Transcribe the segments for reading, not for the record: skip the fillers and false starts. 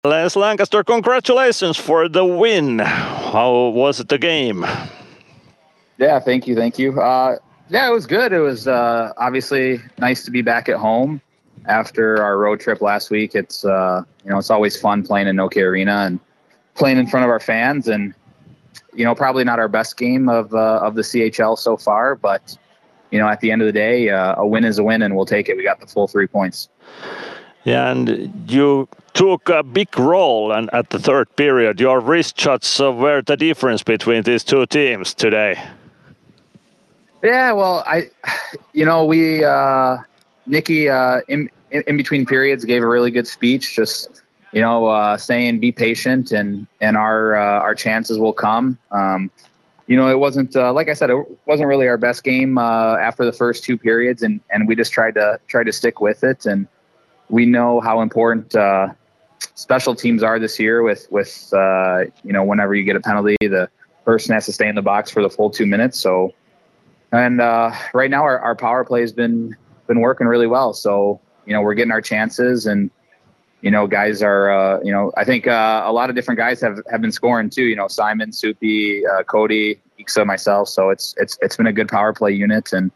Les Lancaster, congratulations for the win. How was the game? Yeah, thank you. Yeah, it was good. It was obviously nice to be back at home after our road trip last week. It's it's always fun playing in Nokia Arena and playing in front of our fans. And probably not our best game of the CHL so far, but at the end of the day, a win is a win, and we'll take it. We got the full 3 points. Yeah, and you took a big role and at the third period. Your wrist shots were the difference between these two teams today. Yeah, well, we Nikki in between periods gave a really good speech, just saying be patient and our chances will come. It wasn't like I said, it wasn't really our best game after the first 2 periods, and we just tried to stick with it. And we know how important special teams are this year. With whenever you get a penalty, the person has to stay in the box for the full 2 minutes. So. And right now, our power play has been working really well. So we're getting our chances, and guys are I think a lot of different guys have been scoring too. Simon, Soupy, Cody, Iksa, myself. So it's been a good power play unit, and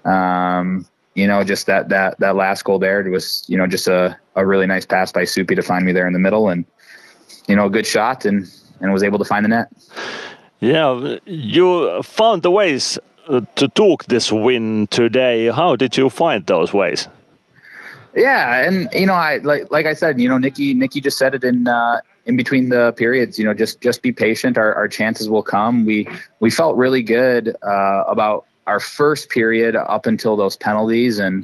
just that last goal there was just a really nice pass by Soupy to find me there in the middle, and a good shot, and was able to find the net. Yeah, you found the ways to took this win today. How did you find those ways? Yeah, and I like I said, Nikki just said it in between the periods. Just be patient. Our chances will come. We felt really good about our first period up until those penalties, and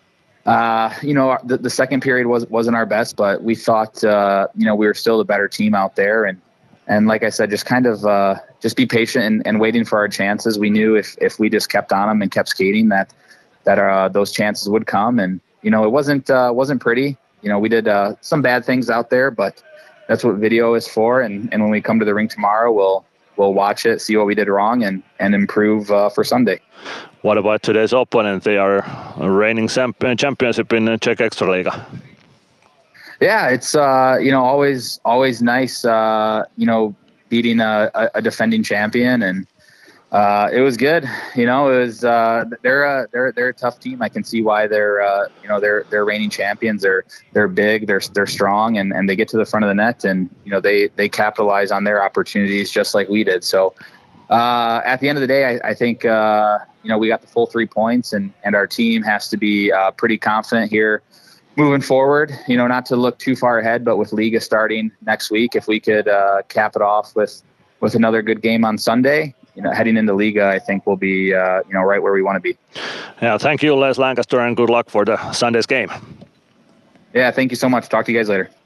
the second period wasn't our best, but we thought we were still the better team out there, and like I said, just kind of just be patient and waiting for our chances. We knew if we just kept on them and kept skating that those chances would come. And it wasn't pretty. We did some bad things out there, but that's what video is for. And when we come to the rink tomorrow, we'll watch it, see what we did wrong, and improve for Sunday. What about today's opponent? They are reigning championship in Czech Extraliga. Yeah, it's always nice beating a defending champion, and it was good. It was they're a tough team. I can see why they're reigning champions. They're big, they're strong, and they get to the front of the net, and they capitalize on their opportunities just like we did. So at the end of the day, I think we got the full 3 points, and our team has to be pretty confident here moving forward, not to look too far ahead, but with Liga starting next week, if we could cap it off with another good game on Sunday, heading into Liga, I think we'll be, right where we want to be. Yeah, thank you, Les Lancaster, and good luck for the Sunday's game. Yeah, thank you so much. Talk to you guys later.